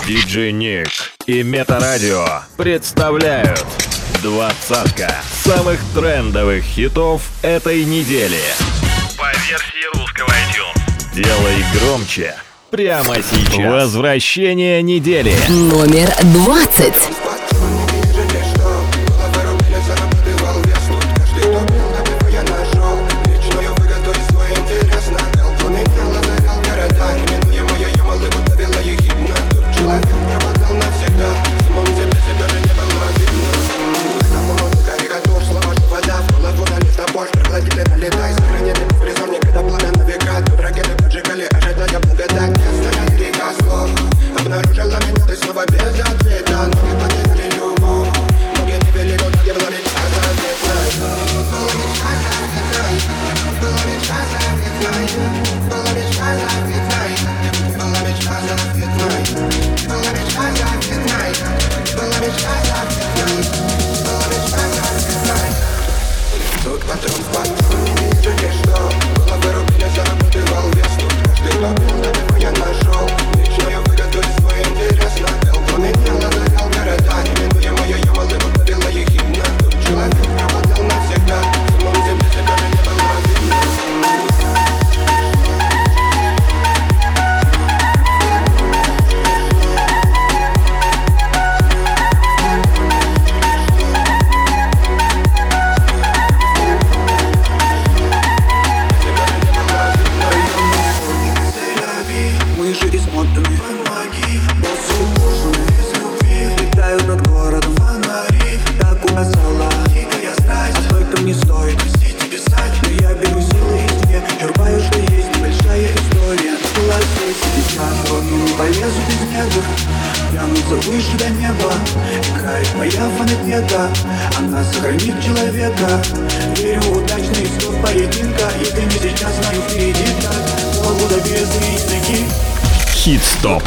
Диджей Ник и Метарадио представляют двадцатка самых трендовых хитов этой недели. По версии русского iTunes. Делай громче прямо сейчас. Возвращение недели. Номер 20. Хит-стоп.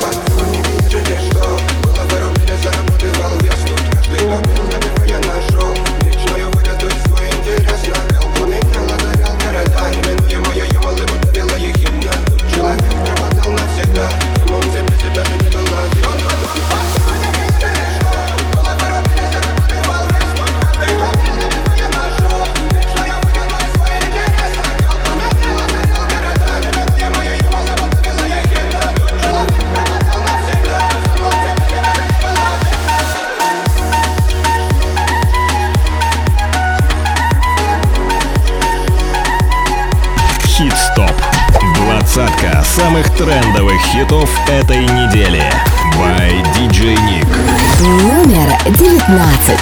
Хит-стоп. Двадцатка самых трендовых хитов этой недели. By DJ Ник. Номер 19.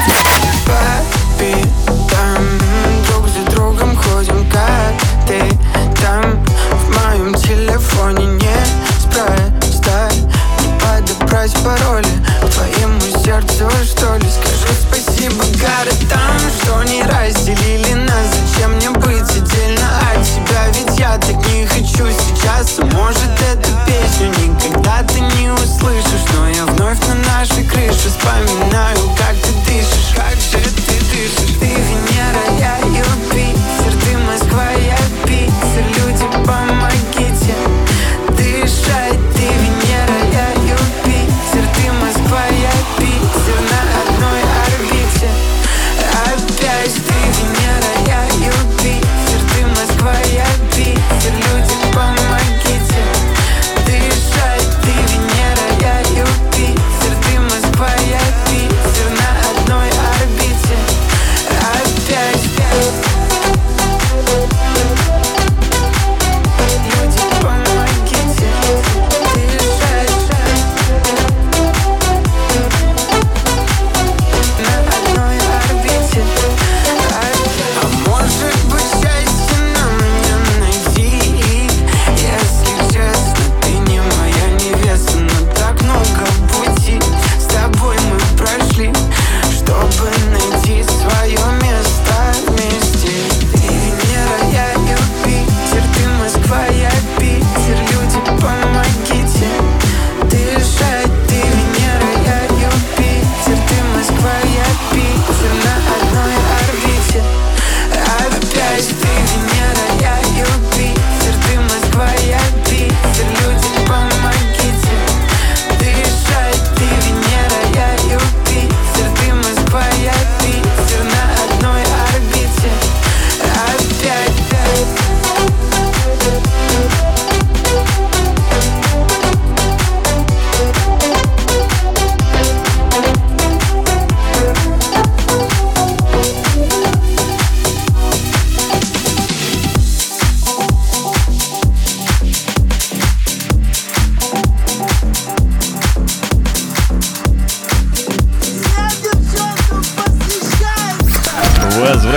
Друг за другом ходим, как ты там. В моем телефоне неспроста не подобрать пароли твоему сердцу, что ли. Скажи спасибо городам, что не разделили нас. Зачем мне быть отдельно от тебя? Ведь я так не хочу сейчас. Может, эту песню никогда ты не услышишь, но я вновь на нашей крыше вспоминаю, как ты дышишь. Как же ты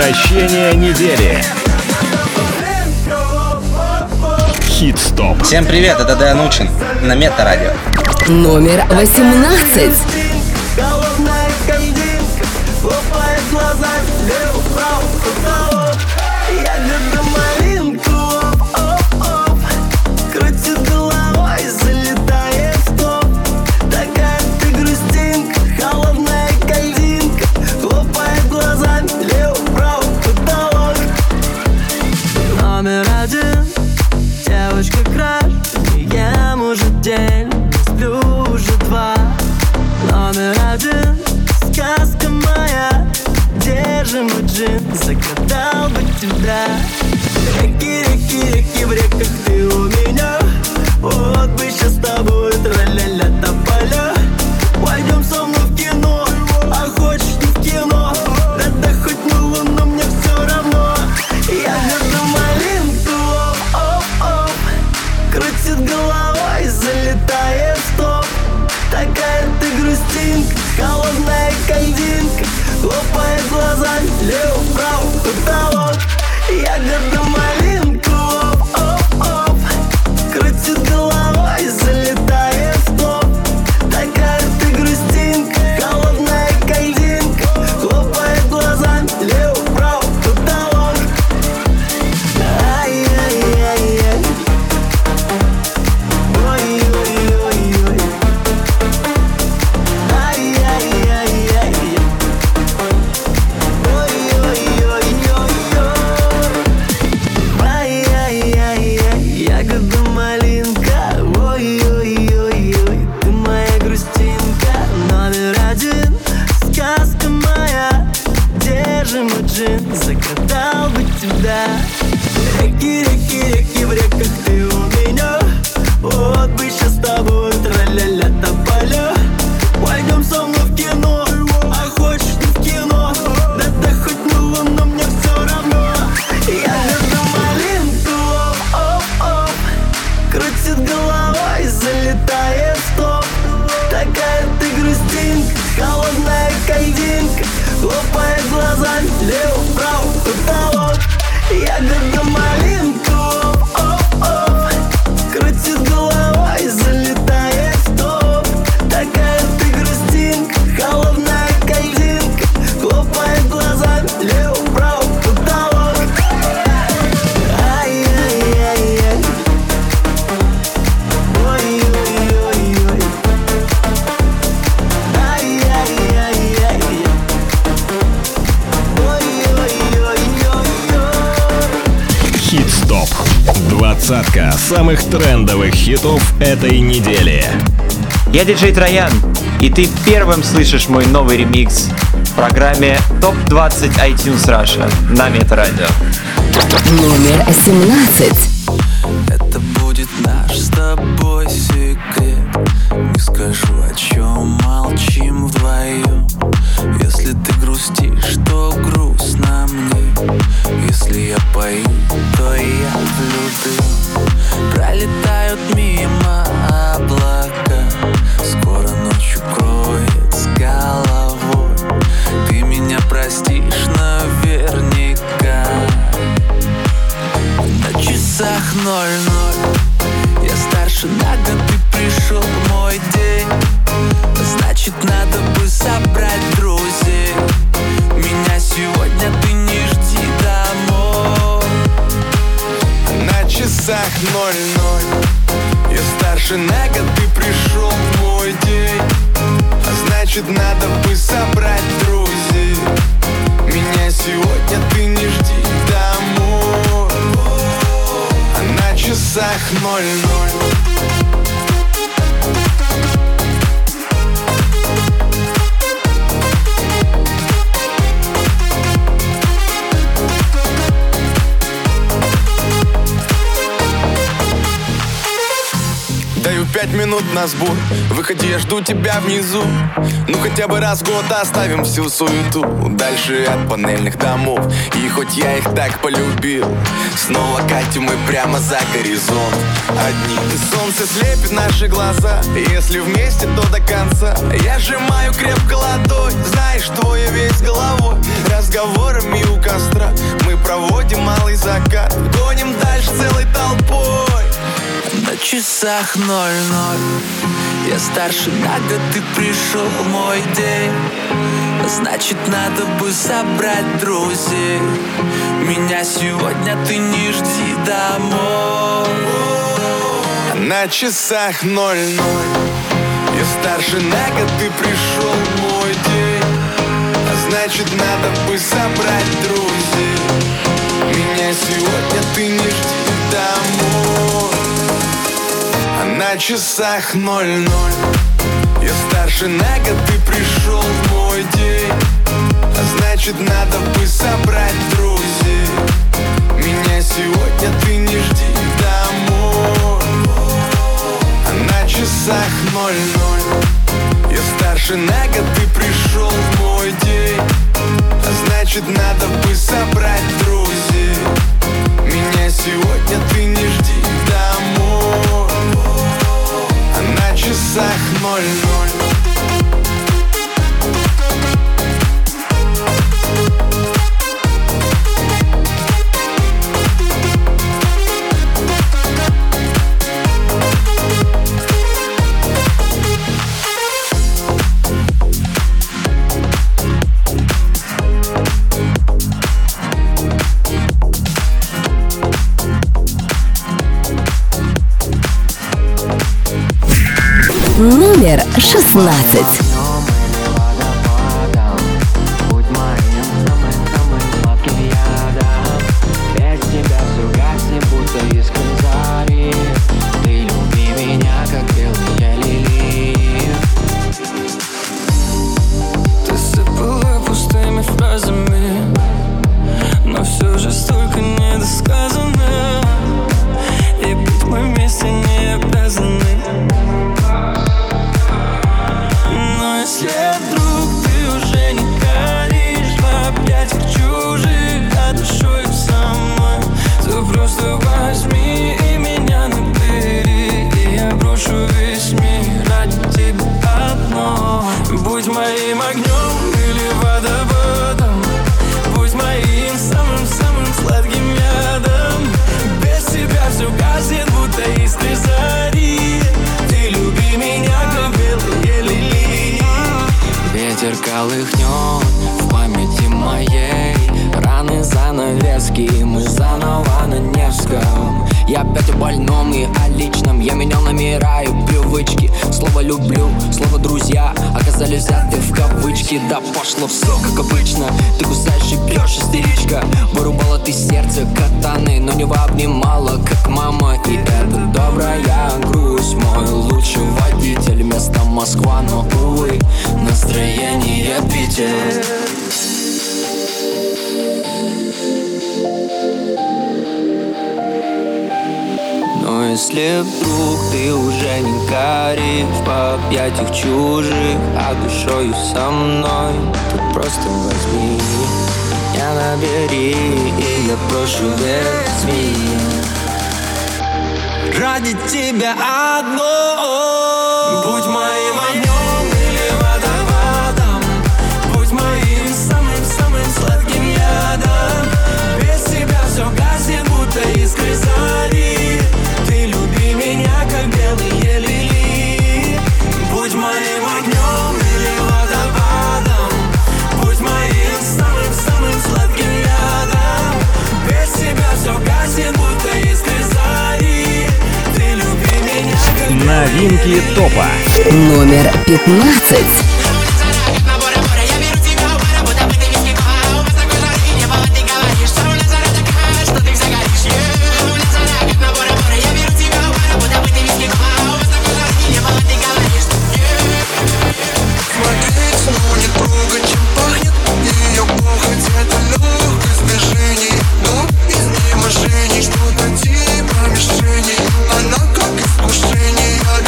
Возвращение недели. Хит-стоп. Всем привет, это Дэн Учин на Мета-радио. Номер 18. Номер один, девочка краш, не ем уже день, не сплю уже два. Номер один, сказка моя, держи мой джин, загадал бы тебя. Реки, реки, реки в реках, ты у меня. Вот бы сейчас с тобой тра-ля-ля тополя. Пойдем со мной в кино, а хочешь не в кино. Да хоть на луну, мне все равно. Я люблю малинку, оп-оп. Крутит головой, залетает в топ. Такая ты грустинка, холодная кальдинка. Лопает глазами, лево-вправо, потолок. Я люблю малинку, оп-оп. Крутит головой, залетает в топ. Такая ты грустинка, холодная кальдинка. Хлопает глазами, лево-вправо, потолок. Ай-яй-яй-яй. Ой-ой-ой-ой. Ай-яй-яй-яй. Ой-ой-ой-ой-ой. Ай-яй-яй-яй. Ягода малинка. Ой-ой-ой-ой. Ты моя грустинка. Номер один. Сказка моя. Держи мой джин. Загадал бы тебя. Реки, реки, реки в реках, ты у меня. Вот бы сейчас с тобой тра-ля-ля тополя. Пойдем со мной в кино, а хочешь не в кино. Да хоть на луну, мне все равно. Я люблю малинку, оп-оп. Крутит головой, залетает в топ. Такая ты грустинка, холодная кальдинка. Хлопает глазами, лево-вправо, потолок. Я люблю малинку, оп-оп. Крутит головой, залетает в топ. Такая ты грустинка, холодная кальдинка. Хлопает глазами, лево-вправо, потолок. Ай-яй-яй-яй. Ой-ой-ой-ой. Ай-яй-яй-яй. Ой-ой-ой-ой-ой. Хит-стоп. Двадцатка самых трендовых хитов этой недели. Я диджей Троян, и ты первым слышишь мой новый ремикс в программе ТОП-20 iTunes Russia на Мета-радио. Номер 17. Это будет наш с тобой секрет. Не скажу, о чем молчим вдвоем. Если ты грустишь, то грустно мне. Если я пою, то я влюблен. Пролетают мимо облака. Скоро ночь укроет с головой. Ты меня простишь наверняка. На часах 00. Я старше на год, ты пришел в мой день. Значит, надо бы собрать друзей. Меня сегодня ты не жди домой. На часах 00. Я старше на год, ты пришел в мой день. Значит, надо бы собрать друзей. Меня сегодня ты не жди домой. На часах 00. Даю 5 минут на сбор. Выходи, я жду тебя внизу. Ну хотя бы раз в год оставим всю суету дальше от панельных домов. И хоть я их так полюбил, снова катим мы прямо за горизонт одни. Солнце слепит наши глаза, если вместе, то до конца. Я сжимаю крепко ладонь, знаешь, твой весь головой. Разговорами у костра мы проводим малый закат. Гоним дальше целой толпой. На часах 00. Я старше на год, ты пришел в мой день. Значит, надо бы собрать друзей. Меня сегодня ты не жди домой. На часах 00. Я старше на год, ты пришел в мой день. Значит, надо бы собрать друзей. Меня сегодня ты не жди домой. На часах 00. Я старше на год, ты пришел в мой день. Значит, надо бы собрать друзей. Меня сегодня ты не жди домой. На часах 00. Я старше на год, ты пришел в мой день. Значит, надо бы собрать друзей. Меня сегодня ты не жди домой. На часах 00. Номер 16. Колыхнет в памяти моей раны, занавески, мы заново на Невском. Я опять о больном и о личном. Я менял номера и привычки. Слово люблю, слово друзья оказались взяты в кавычки. Да пошло все как обычно. Ты кусаешь и бьешь, истеричка. Вырубала ты сердце катаны, но не обнимала, как мама. И это добрая грусть. Мой лучший водитель, место Москва, но увы, настроение Питер. Но если вдруг ты уже не горишь в объятиях чужих, а душою со мной, то просто возьми меня, набери, и я прошу, возьми. Ради тебя одно. Будь моим огнем или водопадом, будь моим самым-самым сладким ядом. Без тебя все гаснет, будто искры зари. Ты люби меня, как белые лилии. Будь моим огнем или водопадом, будь моим самым-самым сладким ядом. Без тебя все гаснет, будто искры зари. Ты люби меня, как Новинки топа. Номер 15. Что-то типа мишени, она как искушение.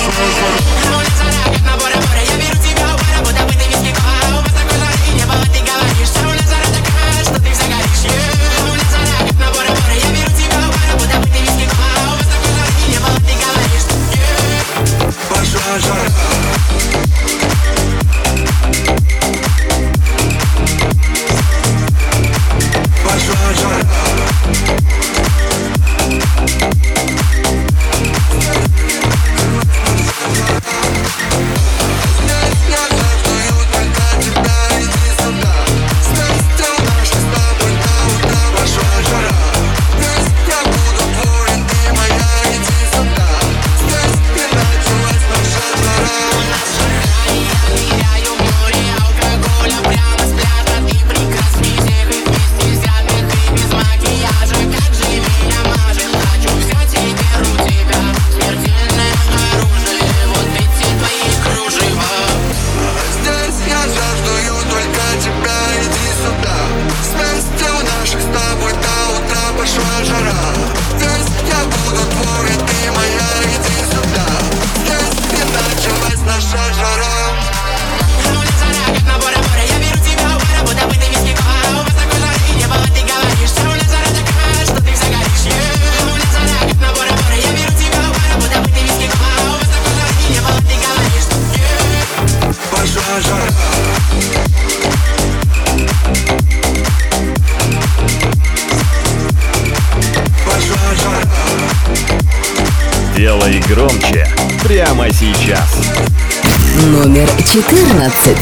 Делай громче прямо сейчас. Номер 14.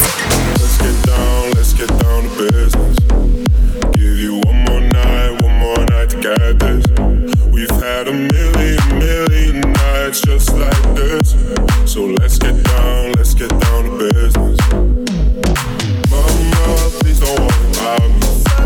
Let's get down to business. Give you one more night to get this. We've had a million nights just like this. So let's get down to business. Mama, please don't worry about me.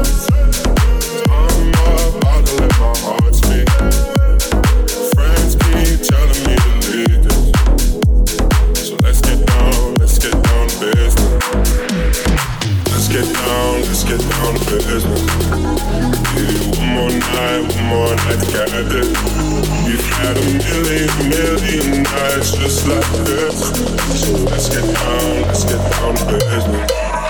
I'm about to let my heart speak. Friends keep telling me to leave this. So let's get down to business. Let's get down to business. Give you one more night to get this. We've had a million nights just like this. So let's get down to business.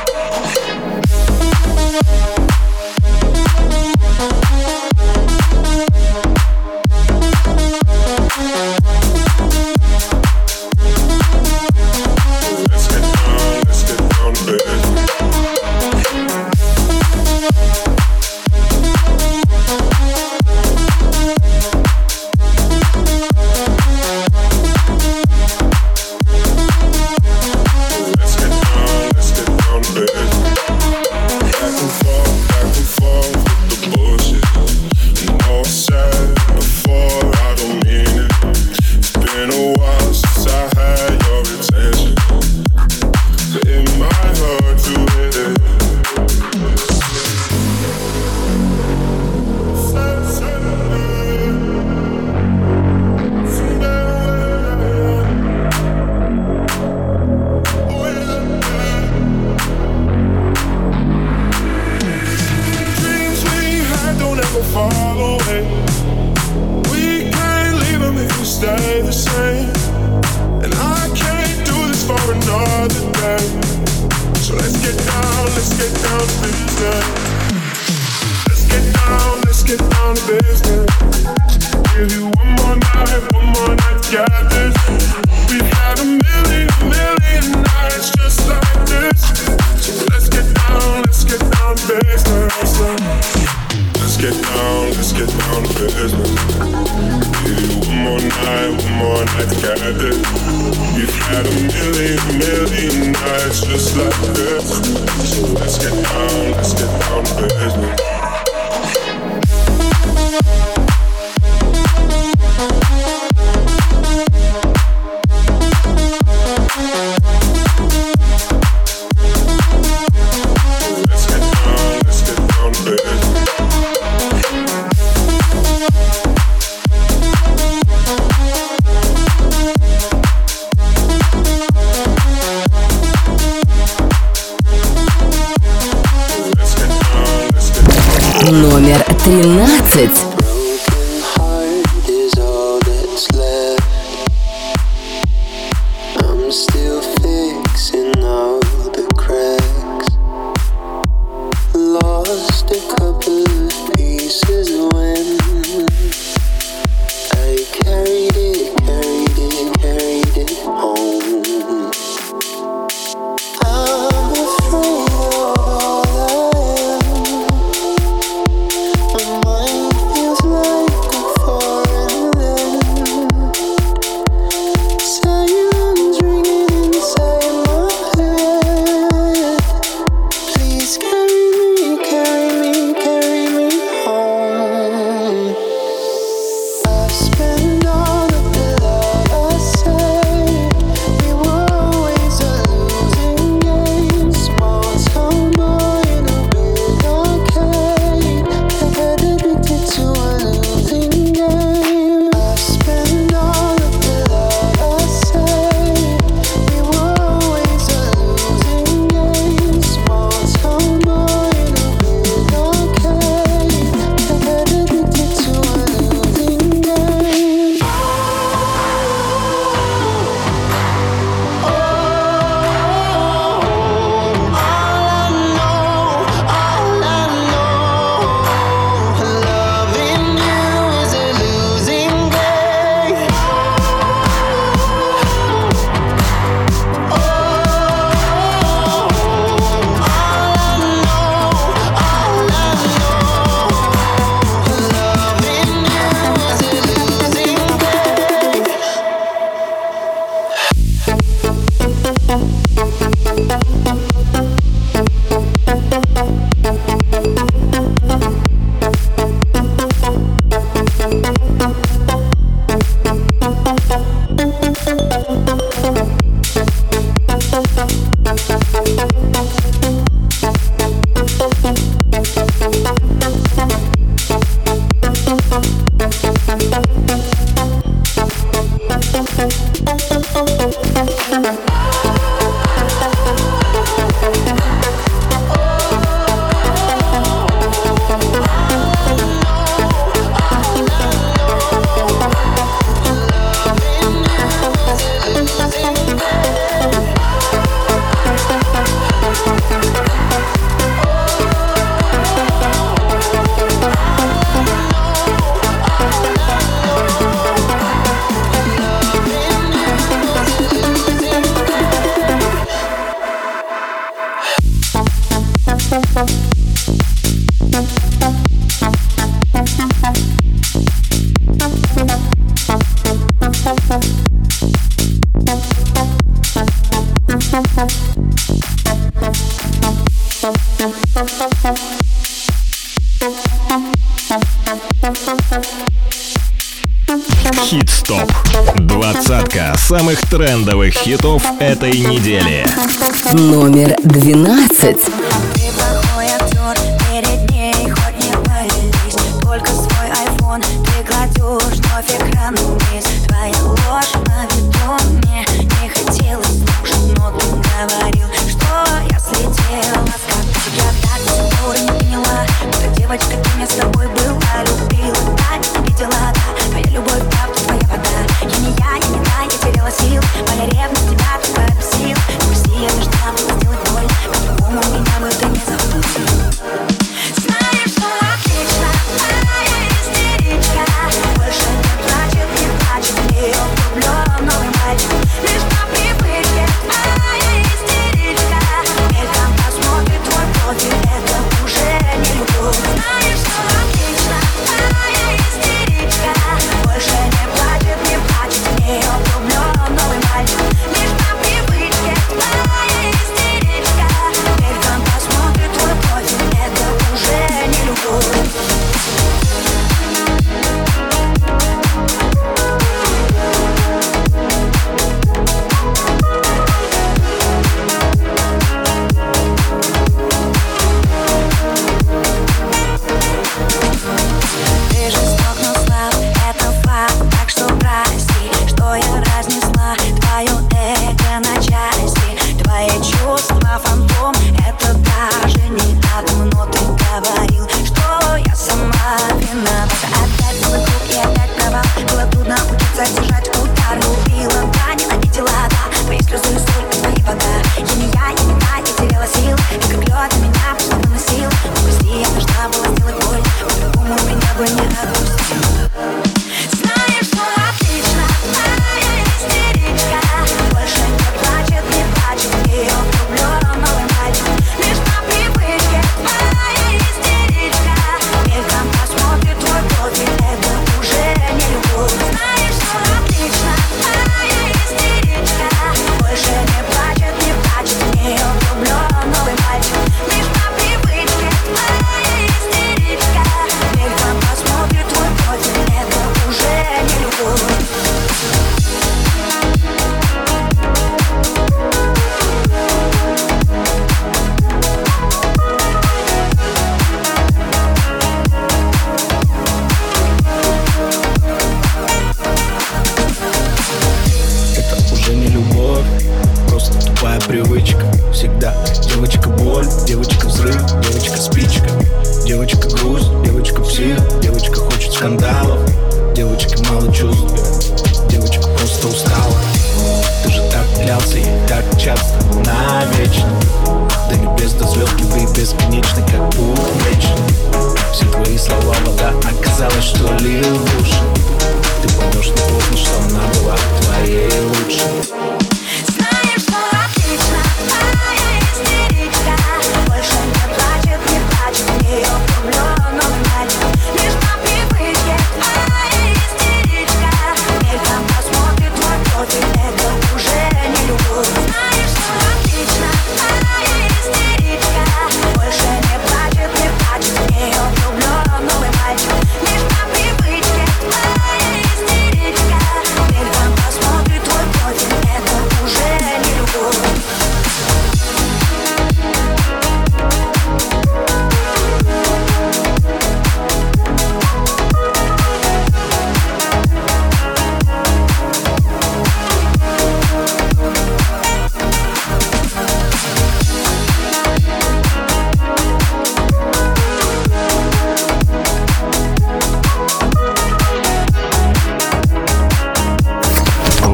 Номер 13. Хит-стоп. Двадцатка самых трендовых хитов этой недели. Номер 12. Ты плохой актер, перед ней хоть не повелись. Только свой айфон ты кладешь вновь экран вниз. Твоя ложь на виду мне не хотелось слушать, но ты говорил, что я слетела с катушек. Я так до сих пор не поняла, что девочка, кем я с тобой была, любила, да, видела, да. Твоя любовь, правда, твоя вода. Я не та, я теряла сил. Моя ревность тебя только бесил. Прости, я не ждала, сделать больно. По-другому меня бы ты не запустил. Знаешь, что отлично, а я истеричка. Больше не плачет,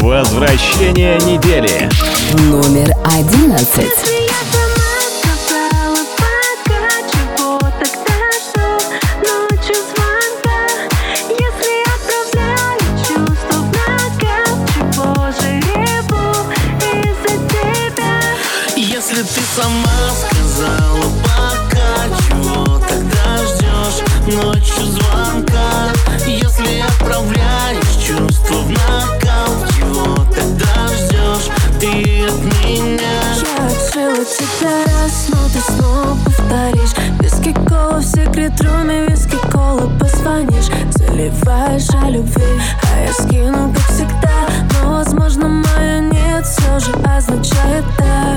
Возвращение недели. Номер 11. Если ты сама сказала пока, чего тогда ждешь ночью звонка? Если отправляешь чувства в нокаут, чего тогда ждешь ты от меня? Я открыла тебя раз, но ты снова повторишь. Виски кола в секрет-руме, виски кола позвонишь. Заливаешь о любви, а я скину, как всегда. Но, возможно, мое нет все же означает да.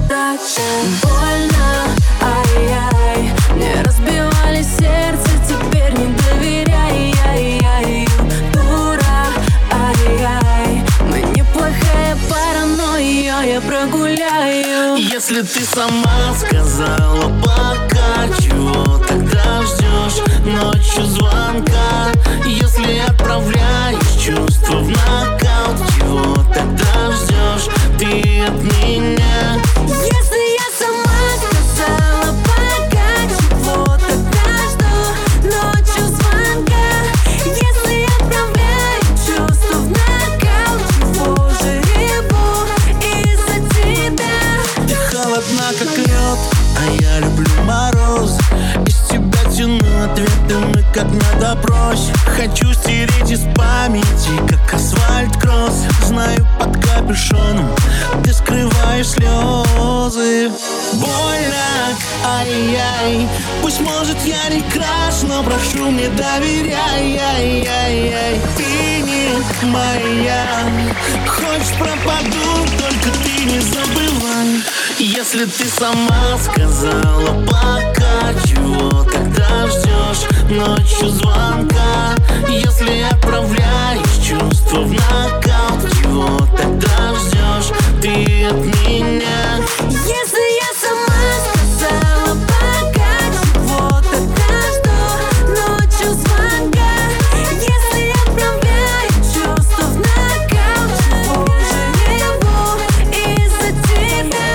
Больно, ай-яй, мне разбивали сердце, теперь не доверяй, ай-яй. Дура, ай-яй, мы неплохая пара, но ее я прогуляю. Если ты сама сказала пока, чего тогда ждешь ночью звонка? Если отправляешь чувства в нокаут, чего тогда ждешь ты от меня? Если я сама сказала пока, чего тогда жду ночью звонка? Если отправляю чувства в нокаут, чего же реву из-за тебя? Ты холодна, как лед, а я люблю мороз. Из тебя тяну ответы, мы как на допросе. Хочу стереть из памяти, как асфальт-кросс. Знаю, под капюшоном ты скрываешь слезы. Больно, ай-яй, пусть, может, я не краш, но прошу, мне доверяй, ай-яй-яй. Ты не моя, хочешь пропаду, только ты не забывай. Если ты сама сказала пока, чего тогда ждешь ночью звонка? Если отправляешь чувства в нокаут, чего тогда ждешь ты от меня? Если я сама сказала пока, чего тогда жду ночью звонка? Если отправляю чувства в нокаут, чего же реву из-за тебя?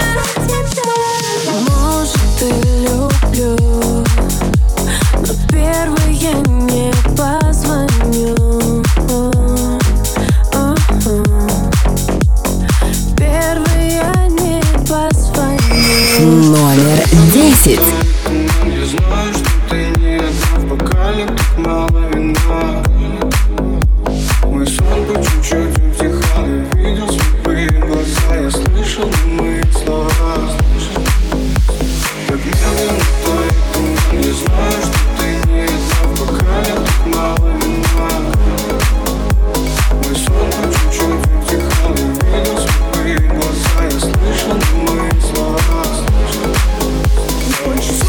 Может, и люблю, но первый я не позвоню. Первый я не позвоню. Номер 10. Я знаю, что ты не одна в бокале, так мало вина. Мой сон по чуть-чуть утихал, я видел слепые глаза, я слышал немые слова. Как медленно тает туман, я знаю, что ты не одна в бокале, так мало вина. Мой сон по чуть-чуть утихал, я видел слепые глаза, я слышал немые слова.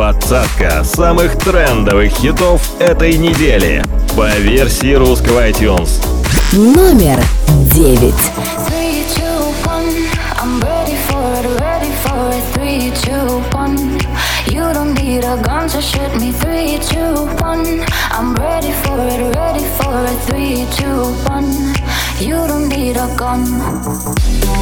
Двадцатка самых трендовых хитов этой недели по версии русского iTunes. Номер 9. 3, 2, 1, I'm ready for it, ready for it. 3, 2, 1, you don't need a gun to shoot me. 3, 2, 1, I'm ready for it, ready for it. 3, 2, 1, you don't need a gun.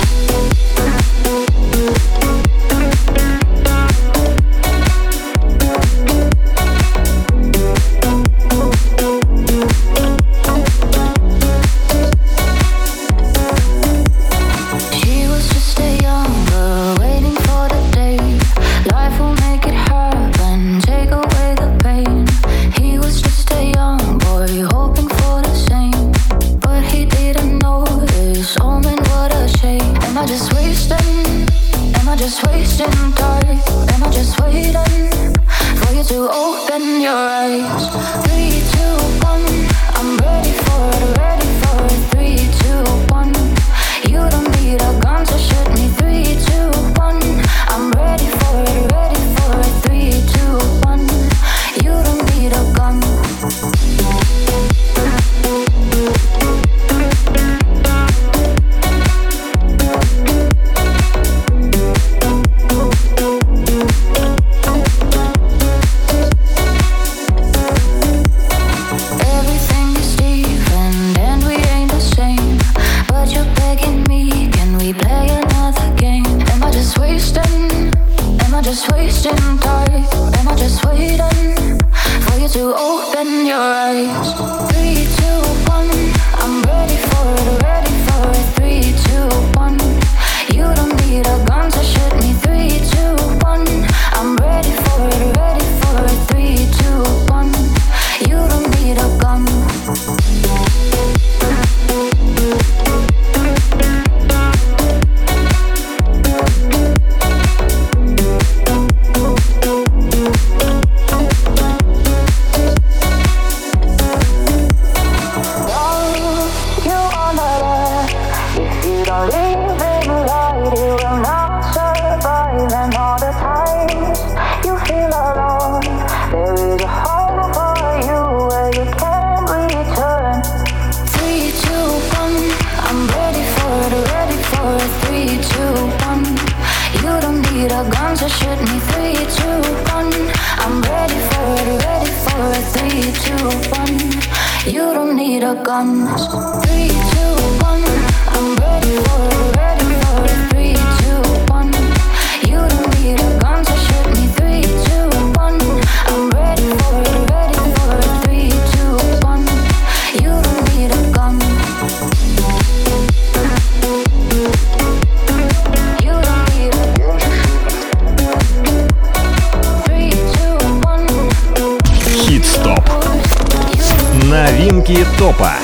Новинки топа.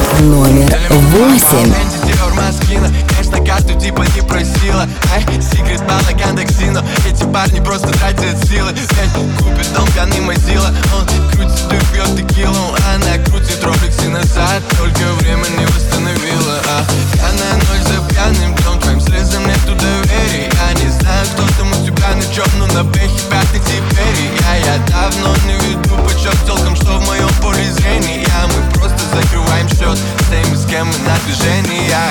Номер 8. Конечно, карту типа не просила. Секрет балаган токсина. Эти парни просто тратят силы. Купит дом, пьяный мазила. Он крутит и пьет текилу. Она крутит роликсы назад. Только время не восстановила. Пьяная ночь за пьяным днем. Твоим слезам нету доверия. Я не знаю, кто там у тебя на чем. Но на бэхе пятый теперь. Я давно не веду почет телкам, что в моем поле зрения. Мы просто закрываем счет с теми, с кем мы на движении. Я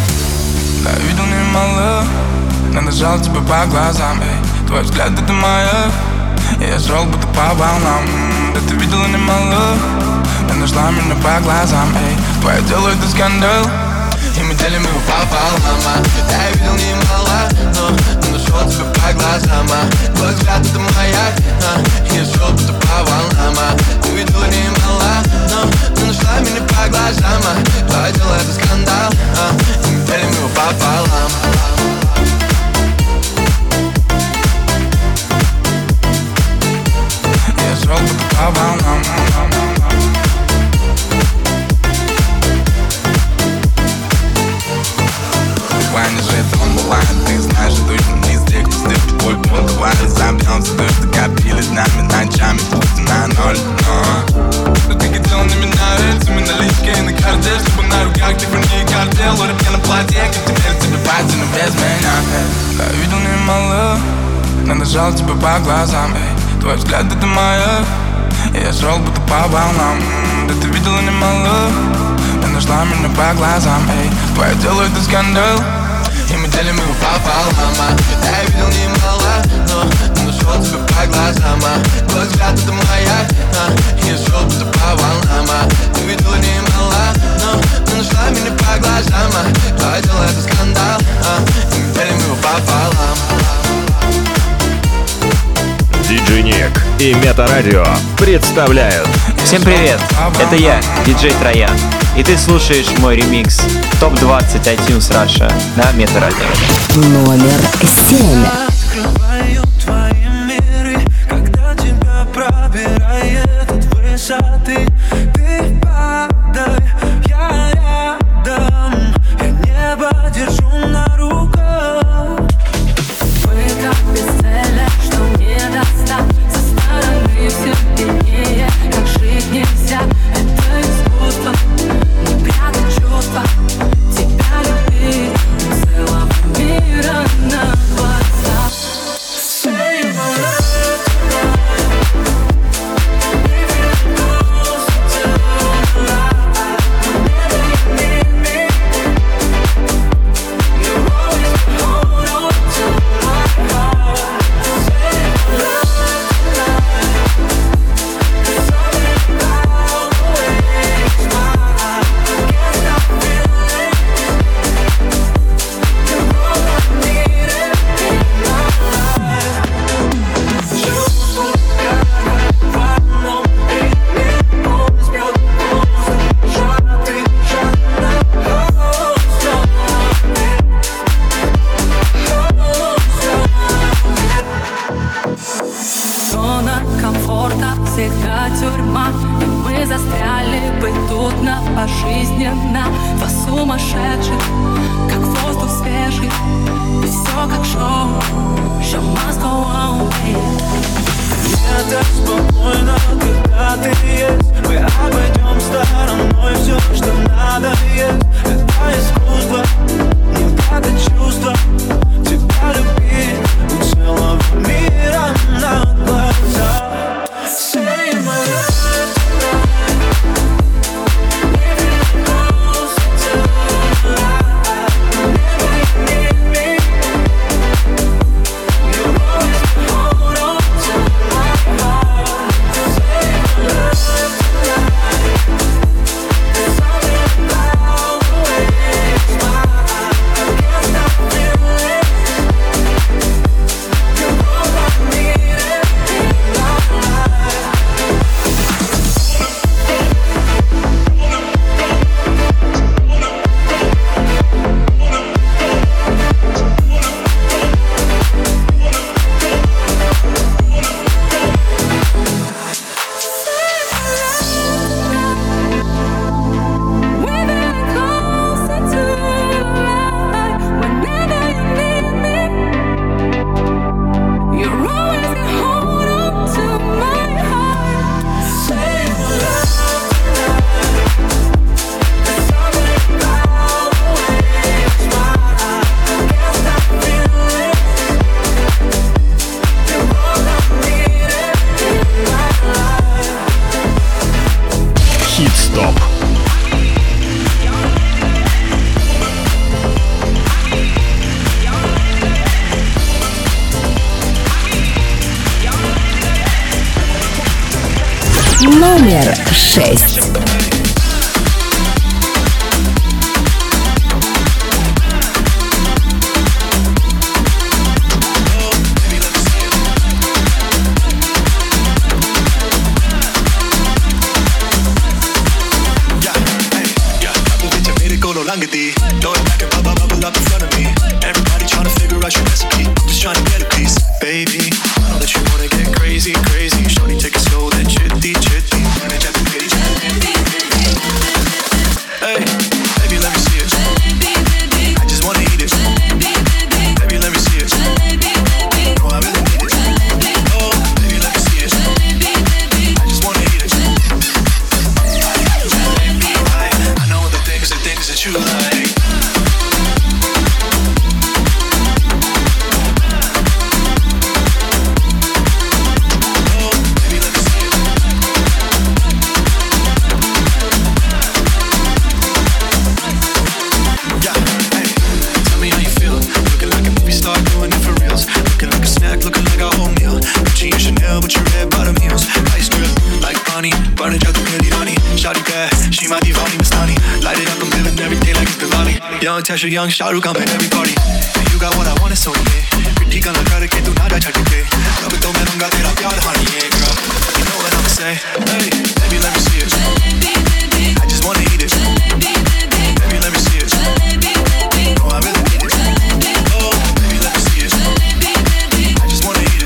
видел немало, надо жал тебя по глазам, эй. Твой взгляд это маяк, я шел будто по волнам. Да ты видела немало, ты нашла меня по глазам, эй. Твое дело это скандал, и мы делим его пополам. Я видел немало, но нашел тебя по глазам. Твой взгляд это маяк, я шел будто по волнам. Ты видела немало, но нашла меня по глазам. Твое дело это скандал, и мы делим его пополам. Я шел будто по волнам. Ты знаешь, точно не из тех, кто стыпит твой пол. Давай разобьемся, то, что копили нами ночами, пусть на ноль. Но ты хотела на меня рельсами, наличкой на карте, чтобы на руках ты вернее картел. Лорик на платье, как теперь тебе пати, но без меня. Я видел немало, надо жал тебя по глазам, эй. Твой взгляд это маяк, я шел будто по волнам. Да ты видела немало, ты нашла меня по глазам. Эй, твое тело это скандал, и мы делим его пополам. Я видел немало, но нашел тебя по глазам. Твой взгляд это маяк, я шел будто по волнам. Ты видела немало, но ты нашла меня по глазам. Твое тело это скандал, и мы делим его пополам. Диджей Ник и Метарадио представляют. Всем привет, это я, диджей Троян, и ты слушаешь мой ремикс ТОП-20 iTunes Russia на Метарадио. Номер 7. Открываю твои миры, когда тебя пробирает от высоты. Ты падай, я рядом, я небо держу на руках. Мы так бесцельны, что не достать. Со стороны все виднее, как жить нельзя. Это искусство, не прятать чувства. Тебя любить целого мира на глазах. Say my love tonight. If you're close to life, whenever you need me, you always hold on to my heart. Say my love tonight. There's something about the way you smile. Can't stop feeling. You're all I needed in my life. Чувство, как в одном ритме, он сбьет мозг. Жара ты, жара, зона комфорта всегда тюрьма, и мы застряли бы тут на пожизненно. Два сумасшедших, как воздух свежий, и все как шоу. Show must go on, мне так спокойно, когда ты есть. Мы обойдем стороной все, что надо есть. Это искусство, не прятать чувства. Тебя любить у целого мира на глазах. Say my love tonight. If you're close to life, whenever you need me, you always hold on to my heart. Say my love tonight. There's something about the way you smile. Can't stop feeling. You're all I needed in my life. We're very close to life. Whenever you need me, you're always hold on to my heart. Say my love tonight. There's something about the way you smile. Can't stop feeling. You're all I needed in my life. Хит-стоп. Номер 6. Throw it back and bubble up in front of me. Everybody trying to figure out your recipe. I'm just trying to get a piece, baby. I know that you wanna get crazy, crazy. Shorty, take it slow, then chitty, chitty. young Tasha Young Shah Rukh Khan pe every party and you got what I want is so yeah पिट्ठी का लगा के तू ना जा छट के अब तो मैं दूंगा तेरा प्यार honey yeah girl you know what I'ma say hey baby let me see it I just wanna eat it baby let me see it oh I really need it oh baby let me see it I just wanna eat it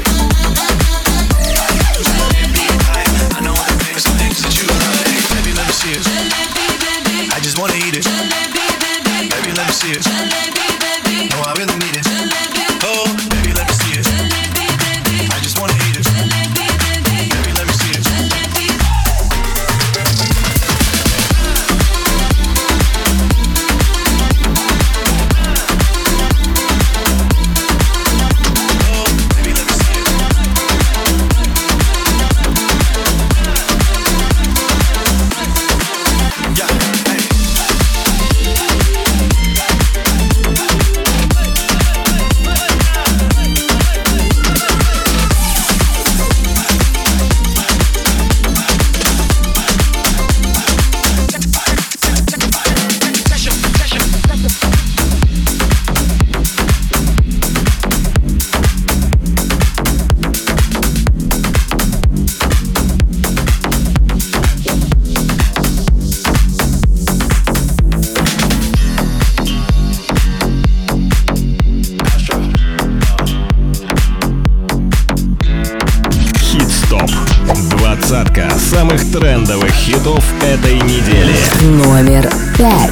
I know all the things that you like baby let me see it I just wanna eat it baby let me see it oh I really need it oh baby let me see it I just wanna eat it baby let me see it Двадцатка самых трендовых хитов этой недели. Номер 5.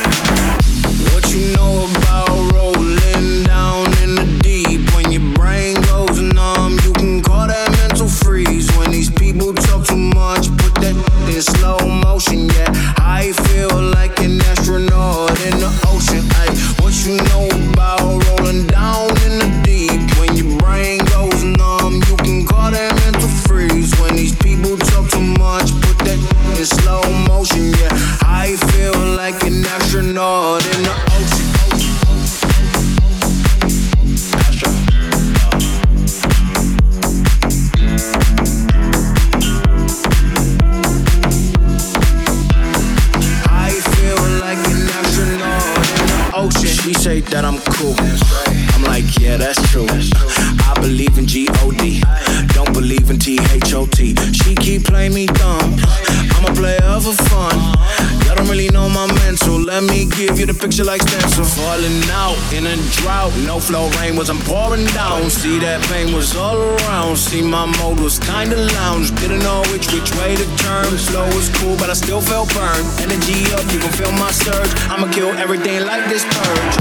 That I'm cool. I'm like, yeah, that's true. I believe in G-O-D. Don't believe in T-H-O-T. She keep playing me dumb. I'm a player for fun. Y'all don't really know my mental. Let me give you the picture like stencil. Falling out in a drought. No flow, rain wasn't pouring down. See, that pain was all around. See, my mode was kinda lounge. Didn't know which way to turn. Flow was cool, but I still felt burned. Energy up, you can feel my surge. I'ma kill everything like this purge.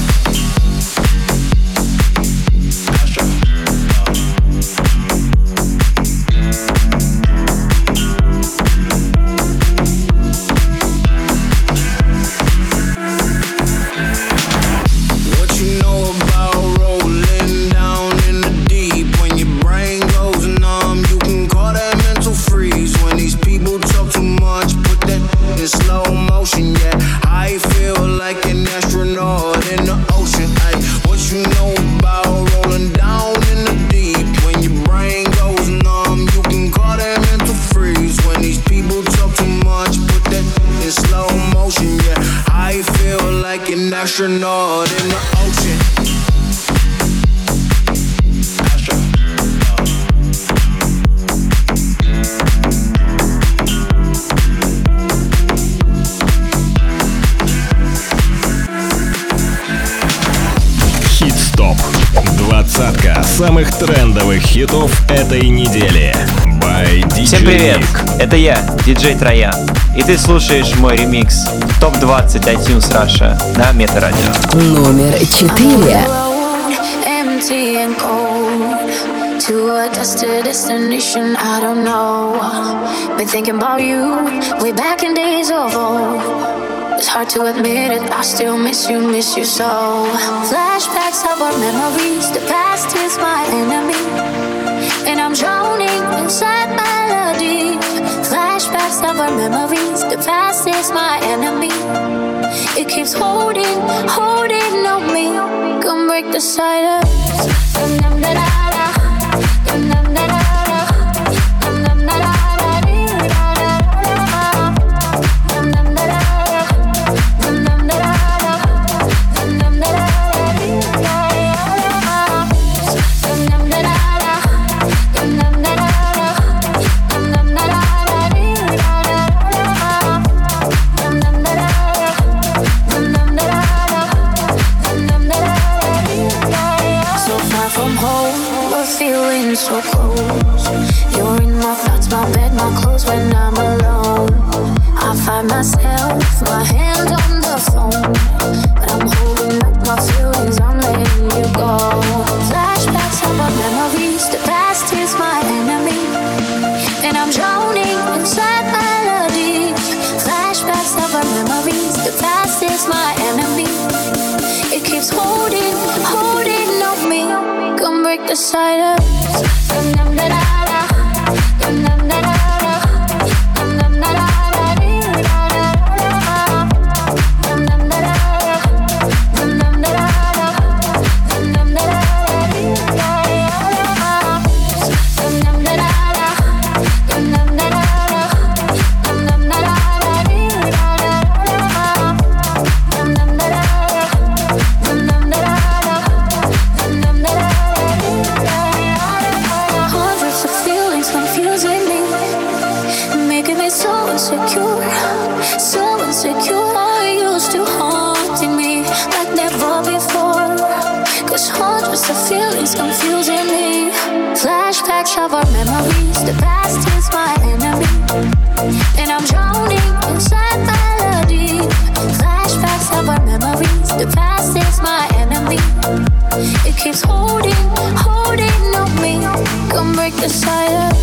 Astronaut in the ocean. Хит-стоп. Двадцатка самых трендовых хитов этой недели. By DJ Всем привет, Nick. это я, диджей Троян. И ты слушаешь мой ремикс ТОП-20 iTunes Russia на Метарадио. Номер 4. Empty and cold to a destination I don't know. Been thinking about you way back in days of old. It's hard to admit it, I still miss you so. Flashbacks of our memories, the past is my enemy, and I'm drowning inside melody. Flashbacks of our memories, the past is my enemy. It keeps holding on me. Come break the silence. we're feeling so close. You're in my thoughts, my bed, my clothes when I'm alone. I find myself, my hand on the phone, but I'm holding back my feelings, I'm letting you go. Flashbacks of our memories, the past is my enemy, and I'm drowning inside melodies. Flashbacks of our memories, the past is my enemy. It keeps holding on me. Come break the silence. Confusing me. Flashbacks of our memories, the past is my enemy, and I'm drowning inside melody. Flashbacks of our memories, the past is my enemy. It keeps holding on me. Come break the silence.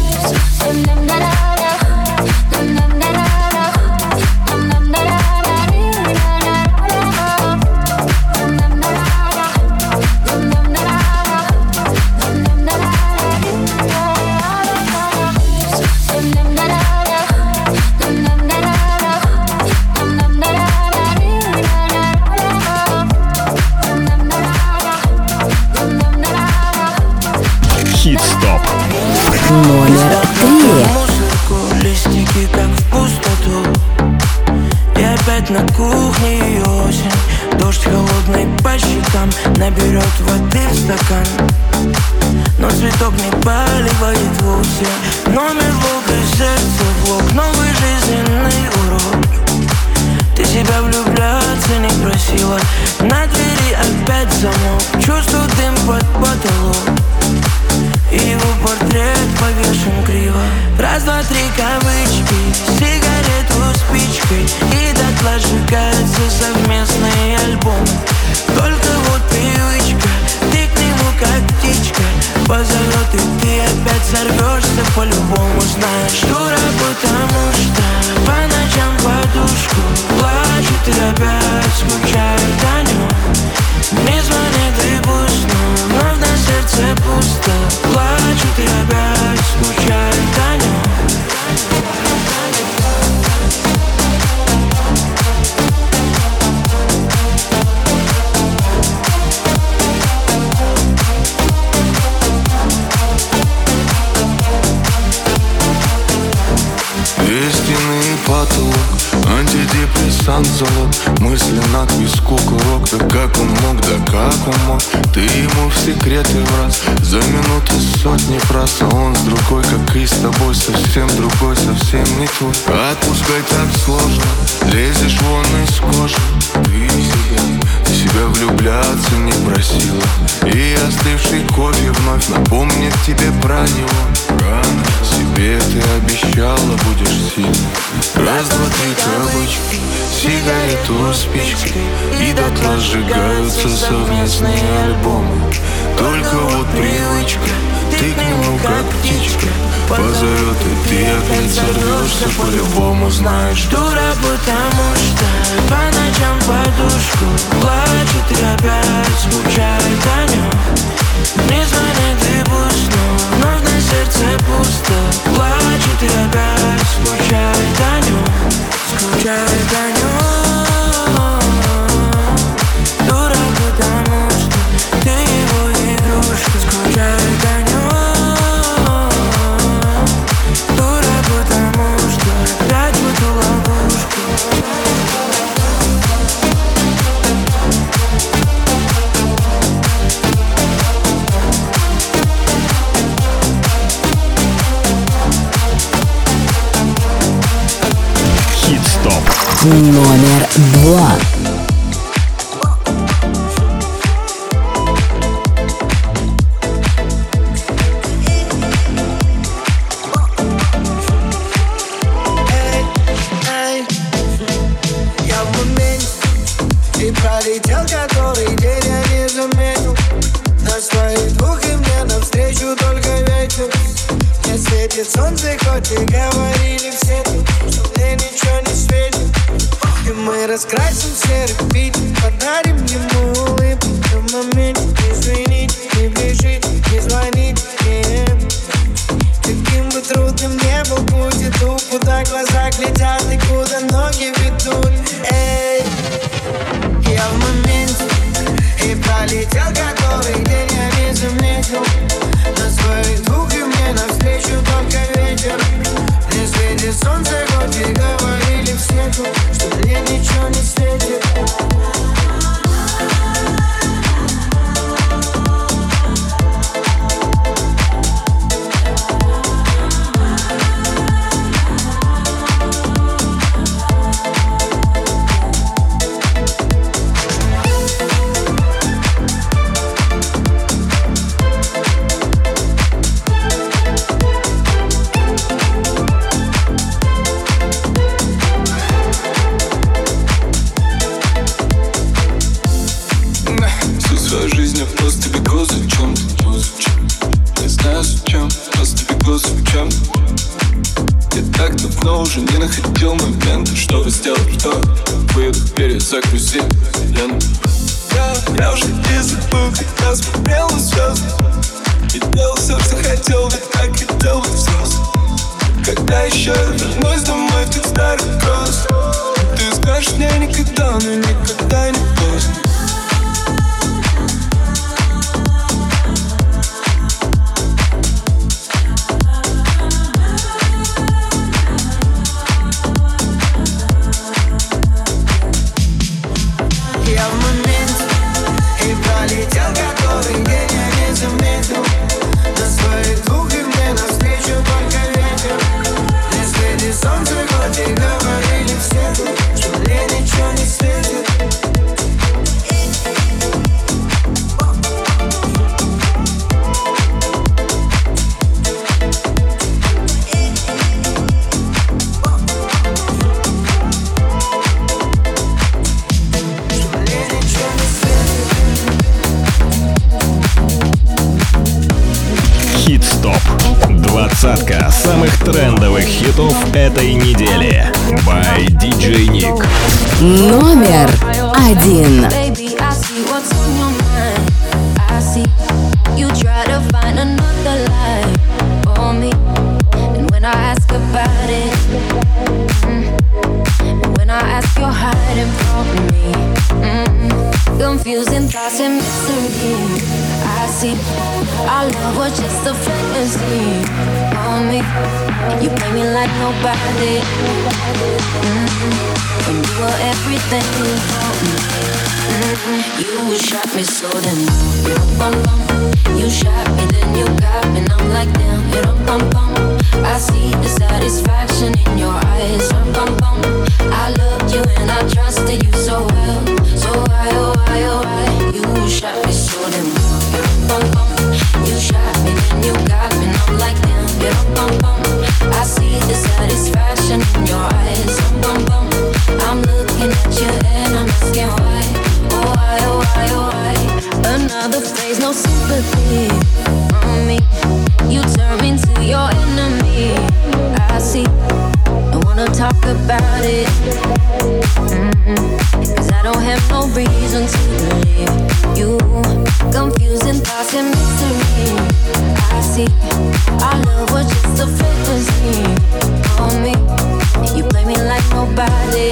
Хит-стоп. Номер 3. Музыку, листики как в пустоту. И опять на кухне и осень. Дождь холодный по щекам наберет воды в стакан. Но цветок не поливает вовсе. Номер волк и сердце влог. Новый жизненный урок. Ты себя влюбляться не просила. На двери опять замок. Чувствую дым под потолок. И его портрет повешен криво. Раз, два, три кавычки, сигарету спичкой, и дотла сжигается совместный альбом. Только вот привычка, ты к нему как птичка позовет, и ты опять сорвешься по-любому. Знаешь, дура, потому что по ночам подушку плачет и опять скучает о нем. Не звонит и пусто, вновь на сердце пусто. Плачет и опять скучает о нем. Истинный потолок, антидепрессант залог. Мысленно к виску курок. Да как он мог, да как он мог. Ты ему в секреты враз. За минуты сотни фраз. А он с другой, как и с тобой. Совсем другой, совсем не твой. Отпускать так сложно. Лезешь вон из кожи. Ты себя влюбляться не просила. И остывший кофе вновь напомнит тебе про него. Рано себе ты обещала, будешь сильной. Раз, два, три кавычки, сигарету спичкой, и дотла сжигаются совместные альбомы. Только вот привычка, ты к нему как птичка позовет, и ты опять сорвешься по-любому. Знаешь, дура, потому что по ночам подушку плачет и опять скучает о нем. Не звонит и пусто, вновь на сердце пусто. Плачет и опять скучает о нем. Скучает о нем. Дура, потому что ты его игрушка. Скучает о нем. Дура, потому что опять в эту ловушку. Номер 2. дух, и мне навстречу только ветер. Не светит солнце, хоть и говорили все, что мне ничего не светит. И мы раскрасим серый Питер, подарим ему улыбку в моменте. Извините, не бежите, не звоните, каким бы трудным не был путь, иду, куда глаза глядят и куда ноги ведут. Эй, я в моменте, и пролетел который день, я не заметил. На своих двух, и мне навстречу только ветер. Не светит солнце, хоть и говорили все, что мне ничего не светит. Уже не находил момента, чтобы сделать то. Выдох, перезагрузи ленту. Я уже не забыл, когда смотрел на звезды и делал все, что хотел, ведь так хотел быть взрослым. Когда еще я вернусь домой в тот старый кросс, ты скажешь мне никогда, но никогда не поздно. Двадцатка самых трендовых хитов этой недели. By DJ Nick. Номер 1. Confusing thoughts and mystery. I see our love was just a fantasy on me. You play me like nobody. When you were everything for me. You shot me so then you shot me, then you got me, and I'm like damn. I see the satisfaction in your eyes. I loved you and I trusted you so well. So why, oh why, oh why? You shot me so then you shot me, then you got me, and I'm like damn. I see the satisfaction in your eyes. I'm looking at you and I'm asking why. Oh why, oh why, oh why? Another phase, no sympathy on me. You turn me into your enemy. I see. Don't wanna talk about it. Cause I don't have no reason to believe you. Confusing thoughts and mystery. I see. Our love was just a fantasy on me. You play me like nobody.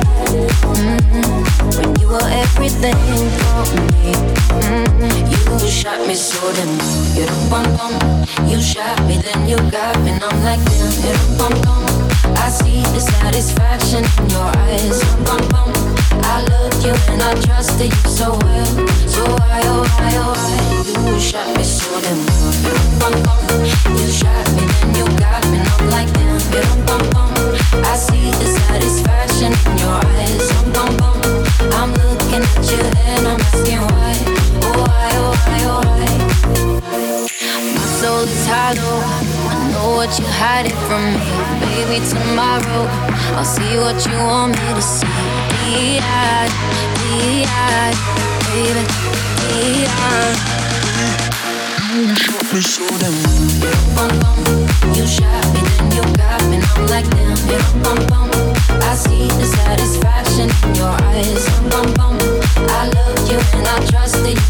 When you were everything for me. You shot me so then you shot me, then you got me, and I'm like damn. I see the satisfaction in your eyes. I loved you and I trusted you so well. So why, oh why, oh why? You shot me so then you shot me, then you got me, and I'm like damn. I see the satisfaction in your eyes. I'm looking at you and I'm asking why. Oh why, oh why, oh why? My soul is hollow. I know what you're hiding from me. Baby, tomorrow I'll see what you want me to see. Baby, let me show them. Bum bum, you shot me, then you got me, and I'm like damn. Bum bum, I see the satisfaction in your eyes. Bum bum, I loved you and I trusted you.